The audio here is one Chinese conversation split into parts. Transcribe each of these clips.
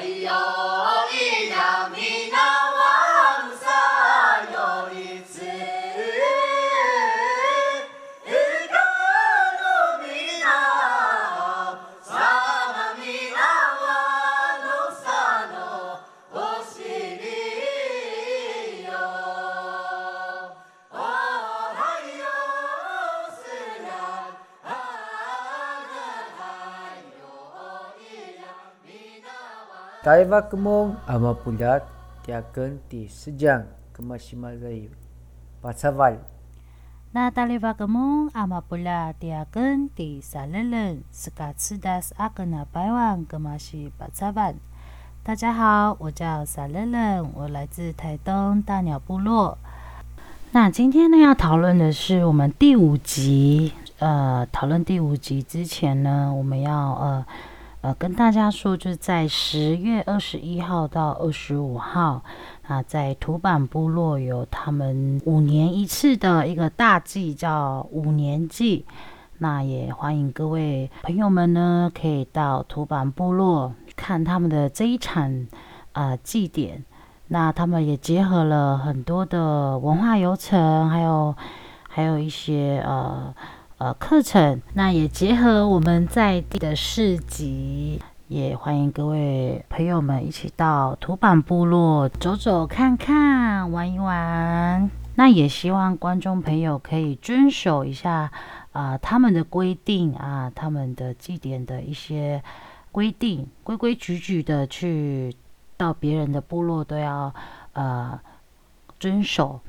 Taiva kemung ama pulat tiaken ti sejang kemasimalai pasaval. 那大利巴格蒙阿玛布拉第二根第三人斯卡茨达斯阿格纳百万格马西巴扎万。大家好，我叫三人，我来自台东大鸟部落。那今天呢要討論的是我們第五集。討論第五集之前呢，我們要跟大家說，就是在10月21號到25號，在土坂部落有他們5年一次的一個大祭，叫5年祭。那也歡迎各位朋友們呢，可以到土坂部落看他們的這一場祭典。那他們也結合了很多的文化遊程，還有一些課程，那也結合我們在地的市集，也歡迎各位朋友們一起到土坂部落走走看看，玩一玩。那也希望觀眾朋友可以遵守一下他們的規定他們的祭典的一些規定，規規矩矩的去到別人的部落都要遵守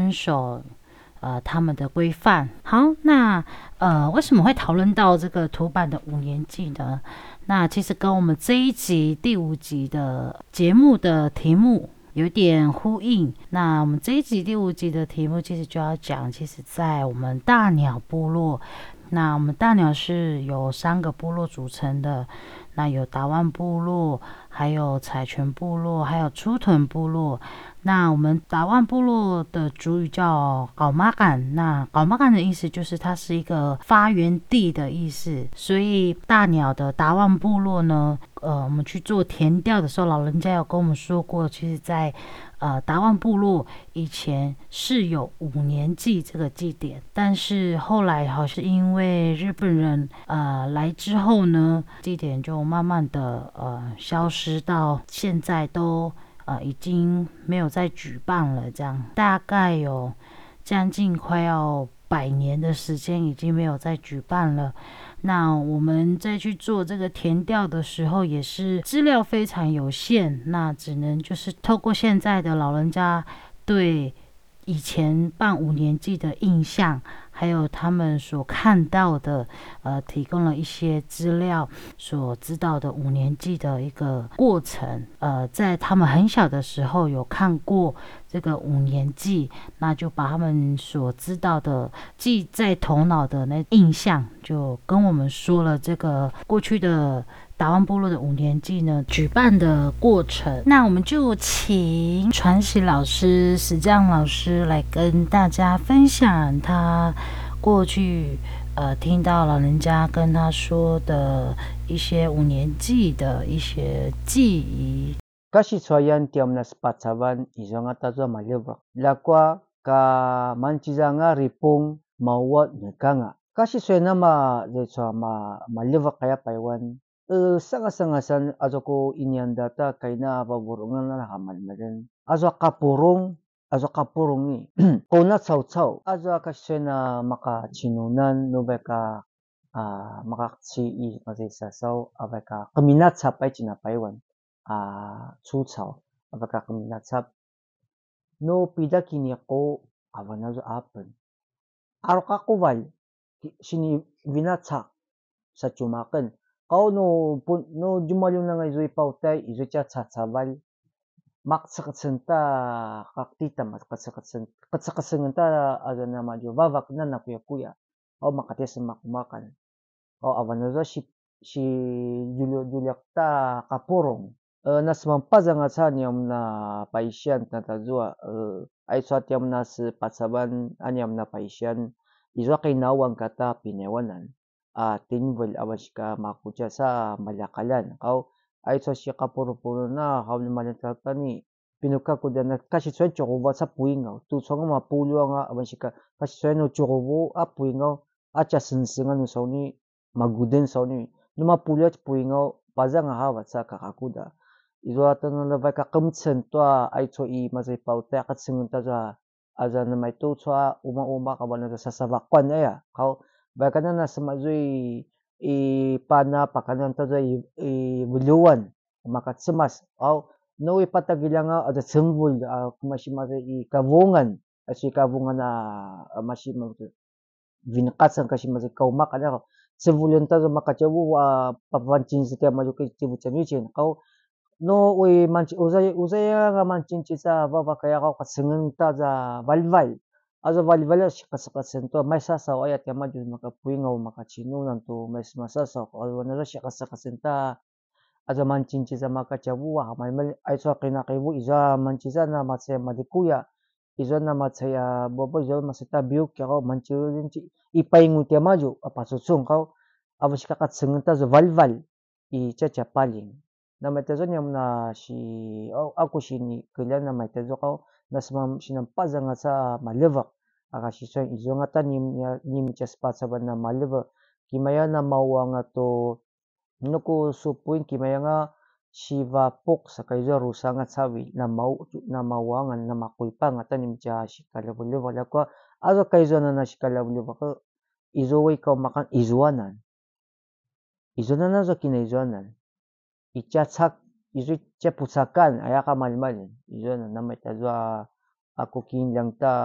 他們的規範。好，那為什麼會討論到這個土坂的5年祭呢？那其實跟我們這一集第5集的節目的題目有點呼應。那我們這一集第5集的題目其實就要講，其實在我們大鳥部落，那我們大鳥是由3個部落組成的，那有達灣部落，還有彩泉部落，還有出屯部落。那我們達灣部落的族語叫搞馬干，那搞馬干的意思就是它是一個發源地的意思。所以大鳥的達灣部落呢，我們去做田調的時候，老人家有跟我們說過，其實在達灣部落以前是有5年祭這個祭典，但是後來好像因為日本人來之後呢，祭典就慢慢的消失，到現在都已經沒有再舉辦了，這樣大概有將近快要100年的時間已經沒有再舉辦了。那我們再去做這個田調的時候，也是資料非常有限，那只能就是透過現在的老人家對以前辦5年祭的印象，還有他們所看到的提供了一些資料，所知道的5年祭的一個過程。在他们很小的時候有看過這個5年祭，那就把他們所知道的記在頭腦的那印象，就跟我們說了這個過去的達灣部落的5年祭呢舉辦的過程。那我們就請傳喜老師、石匠老師來跟大家分享他過去聽到老人家跟他說的一些5年祭的一些記憶。 Kasi soyan tiam nas patsavan izanga tazo malibak. Lakwa ka manchizanga ripung mawat nekanga. Kasi soyan nama zeso malibak kaya paiwan. Sanga-sangasan azo ko inyandata kaina paburungan na hamalmadan. Azo kapurong ni. Kuna tsaw-tsaw. Azo kasi na makachinunan no beka makaksi mazisasaw abeka keminat sapay cinapaiwan. 出草abaka keminatsap no pida kiniko avanazo apen arokakowal sini vinatsak sa chumaken kau no jumalung na nga izoi pautay izoi cha tsatsaval maksakasenta kaktita katsakasenta azana majo vavak na nakuya o makatias makumakan o avanazo si Juliakta kapurong nas mampazang asanyam na paisyan na tazua ay satyam nas patsaban anyam na paisyan izwa kay nawang kata pinewanan tinvel awashka makucha sa malakalan kau ay so si kapuro-puro na hawli malatani pinuka ko dana kasi so chokoba sa puingaw tu so nga mapulo nga abasika kasi so no chokobo a puingaw acha sinsinga no so ni maguden so ni numa pulo puingaw paza nga hawa sa kakakuda izo ata na vai ka kamtsen to ai so I mazai pauta ka tsingun ta za aza na mai to chwa uma ka bana sa savakwan ya kau vai ka na sa mazui pana pakanan ta za buluwan makatsimas au no ipatagilanga ada sembul kumashi mazai kavungan asi kavungan na mashi vinqatsan kashi mazai kaumak ana sembulun ta za makachabu papancin sita majuki tibuchanichin kau no manchi uzay nga manchinchi sa baba kaya ka katsingen ta za valval azo valval shikasakasen to may sasaw ayat kama jud makapuingaw makachino nanto may masasaw azo na shikasakasen ta azo manchinchi sa makachabuwa may ay so kinakibu iza manchisa na matsaya madikuya izo na matsaya bobo izo masita biuk kaya manchi ipaingu tia maju apasutsung kau abo shikakatsingen ta zo valval I chachapaling na metazo niyam na ako shini kailan na metazo kau nasma sinampaza nga sa malevak akashi so izo nga ta nim chaspa sa na malevak kimaya na mawa nga to nuko supuin kimaya nga shiva pok sa kaizo rusa nga sawi na mawa nga na makuipa nga ta nim cha shikalabuleva lakwa azo kaizo na shikalabuleva ko izo way kau makan izuanan izo na zo kinaizuanan ichachak izo chaputsakan ayaka malmal izo na namay tazwa ako kinlang ta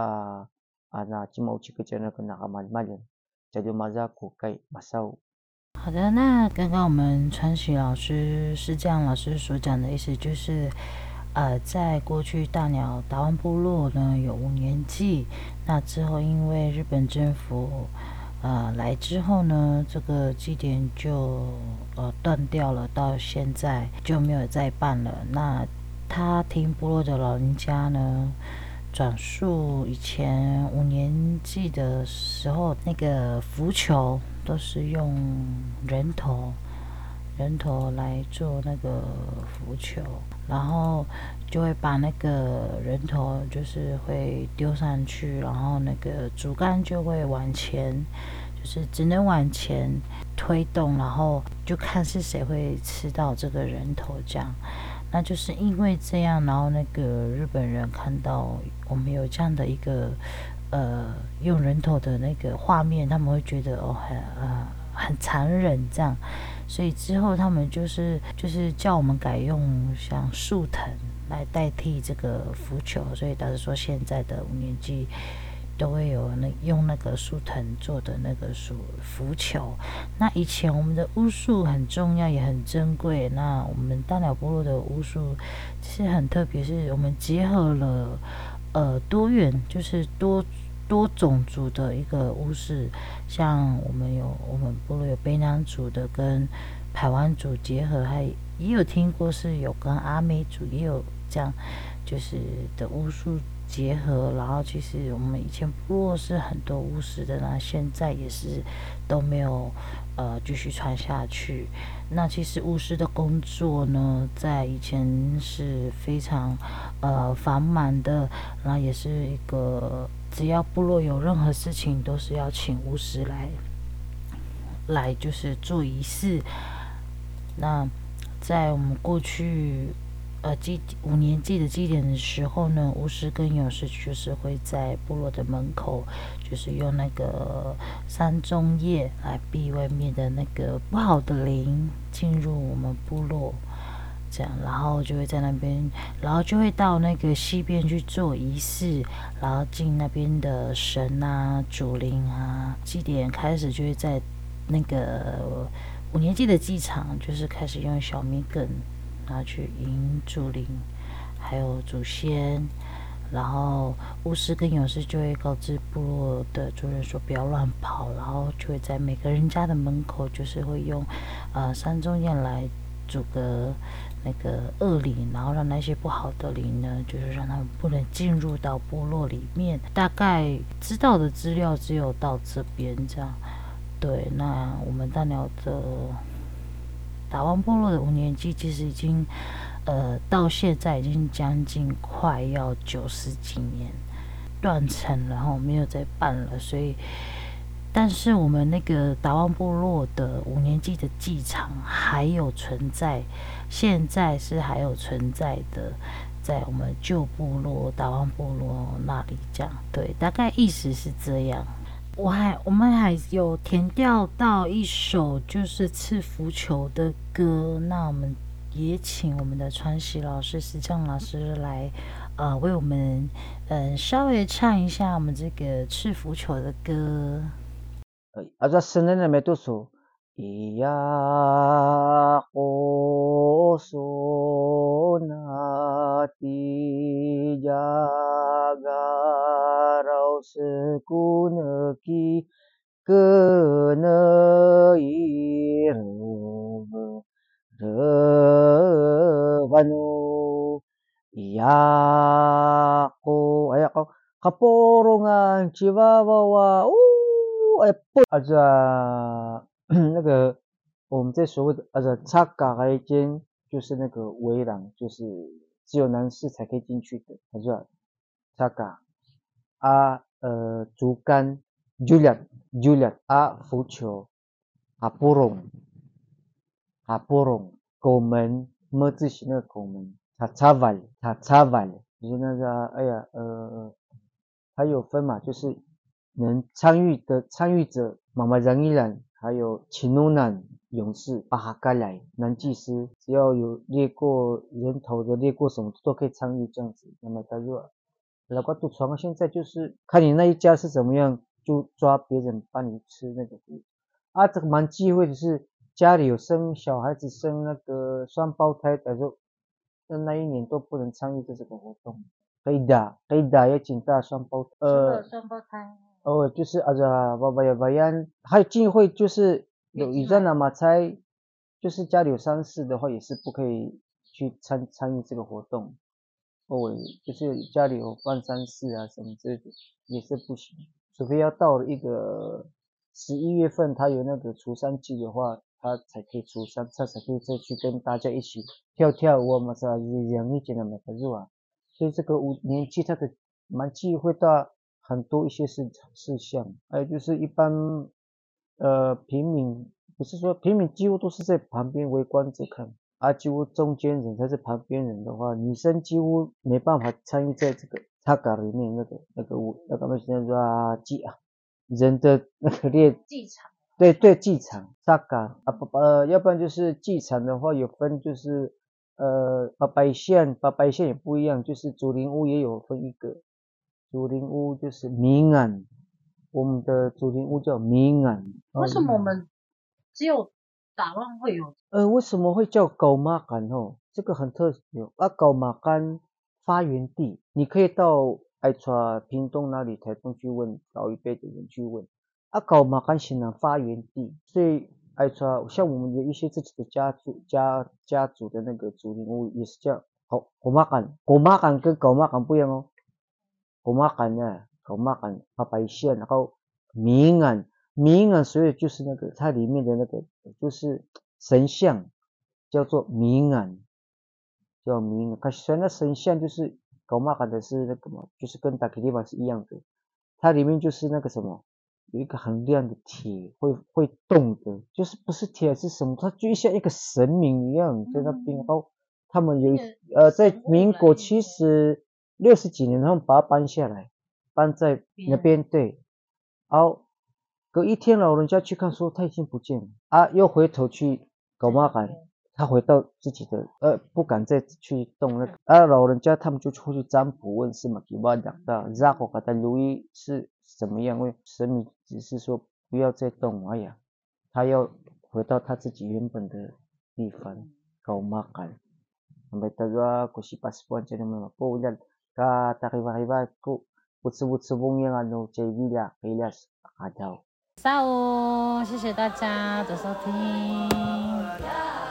ana chimau chikachana kana kamalmal jadi maza ko kai basau。 好的，那刚刚我们川喜老師是這樣老師所講的意思就是，在過去大鳥達灣部落呢有5年祭，那之後因為日本政府來之後呢，這個祭典就斷掉了，到現在就沒有再辦了。那他聽部落的老人家呢轉述以前5年祭的時候，那個浮球都是用人頭來做那個浮球，然後就會把那個人頭就是會丟上去，然後那個竹竿就會往前，就是只能往前推動，然後就看是誰會吃到這個人頭這樣。那就是因為這樣，然後那個日本人看到我們有這樣的一個用人頭的那個畫面，他們會覺得很殘忍這樣，所以之後他們就是叫我們改用像樹藤來代替這個浮球，所以導致說現在的5年祭都會有用那個樹藤做的那個浮球。那以前我們的巫術很重要也很珍貴，那我們大鳥部落的巫術其實很特別，是我們結合了多元，就是多種族的一個巫術，像我們部落有卑南族的跟排灣族結合，還也有聽過是有跟阿美族也有這樣就是的巫術結合，然後其實我們以前部落是很多巫師的，那現在也是都沒有繼續傳下去。那其實巫師的工作呢，在以前是非常繁忙的，然後也是一個只要部落有任何事情都是要請巫師來就是做儀式。那在我們過去5年祭的祭典的時候呢，巫師跟勇士就是會在部落的門口，就是用那個山中葉來避外面的那個不好的靈進入我們部落，這樣，然後就會在那邊，然後就會到那個西邊去做儀式，然後進那邊的神啊、主靈啊，祭典開始就會在那個5年祭的祭場，就是開始用小米梗。然後去迎主靈，還有祖先，然後巫師跟勇士就會告知部落的族人說不要亂跑，然後就會在每個人家的門口，就是會用山中葉來阻隔那個惡靈，然後讓那些不好的靈呢，就是讓他們不能進入到部落裡面。大概知道的資料只有到這邊這樣。對，那我們大鳥的達旺部落的5年祭其實已經到現在已經將近快要90幾年斷層了，然後沒有再辦了，所以但是我們那個達旺部落的5年祭的祭場還有存在，現在是還有存在的，在我們舊部落達旺部落那裡這樣，對，大概意思是這樣。我們還有填調到一首就是赤福球的歌，那我們也請我們的傳習老師石匠老師來為我們稍微唱一下我們這個赤福球的歌。 아자 스네네 메두수 이야 호소나 디자가라우 스쿠느기 그느이르바누 이야호 아야고 가뽀롱한 지바바와那个我们在所谓的插嘎来间就是那个圍廊，就是只有男士才可以進去的，插嘎竹竿 Juliet 浮球porong 狗門么字形那個狗門插就是那個它有分嘛，就是能參與者媽媽讓一讓，還有秦努南勇士巴哈蓋來男祭司，只要有獵過人頭的獵過什麼都可以參與這樣子。那麼他說老瓜賭床現在就是看你那一家是怎麼樣，就抓別人幫你吃那個這個蠻忌諱的是家裡有生小孩子生那個雙胞胎的時候，那一年都不能參與這個活動。可以打也請大雙胞雙胞胎就是babayan，還有忌諱就是有以上的嘛才就是家裡有喪事的話也是不可以去參與這個活動，就是家裡有辦喪事啊什麼之類的也是不行，除非要到了一個11月份他有那個除喪祭的話，他才可以除喪，他才可以再去跟大家一起跳舞嘛是吧，養一點的嘛是吧，所以這個5年祭它的蠻忌諱到很多一些事項，還有就是一般平民，不是說平民幾乎都是在旁邊圍觀着看，幾乎中間人才是旁邊人的話，女生幾乎沒辦法參與在這個插嘎裡面那個人的那個祭場， 對祭場插嘎要不然就是祭場的話有分就是八百線也不一樣，就是竹林屋也有分一個。竹林屋就是明安，我們的竹林屋叫明安。 為什麼我們只有達旺會有？ 為什麼會叫狗馬干哦？這個很特別狗馬干發源地，你可以到愛川屏東那裡台東去問老一輩的人去問狗馬干是哪發源地？所以愛川像我們有一些自己的家族的那個竹林屋也是叫狗馬干，狗馬干跟狗馬干不一樣哦。狗馬干八百線，然後明安，所以就是那個它裡面的那個就是神像叫做明安，叫明安。可是那神像就是狗馬干的是那個嘛，就是跟大吉利巴是一樣的，它裡面就是那個什麼，有一個很亮的鐵會動的，就是不是鐵是什麼，它就像一個神明一樣在那邊。然後他們有在民國60幾年，他們把它搬下來，搬在那邊，對。然後隔一天老人家去看說他已經不見了又回頭去狗馬干，他回到自己的不敢再去動那個老人家他們就會去占卜問是嘛，給我講到然後給他留意是怎麼樣，因為神明只是說不要再動，他要回到他自己原本的地方狗馬干。sampai tadwa ko si paspuan siya naman po ulan ka takiba ko butsubong yang chay bila kailas akadaw。 下午，謝謝大家的收聽。